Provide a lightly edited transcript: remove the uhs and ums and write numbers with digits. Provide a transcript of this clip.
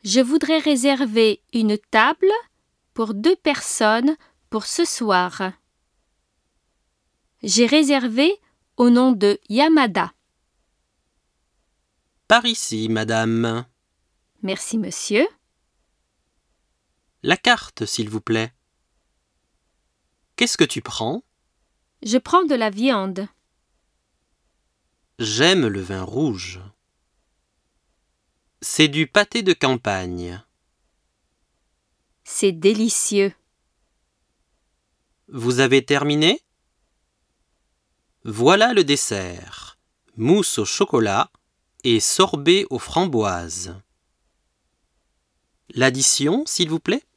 Je voudrais réserver une table pour 2 personnes pour ce soir. J'ai réservé au nom de Yamada. Par ici, madame. Merci, monsieur. La carte, s'il vous plaît. Qu'est-ce que tu prends? Je prends de la viande. J'aime le vin rouge. C'est du pâté de campagne. C'est délicieux. Vous avez terminé? Voilà le dessert. Mousse au chocolat et sorbet aux framboises. L'addition, s'il vous plaît?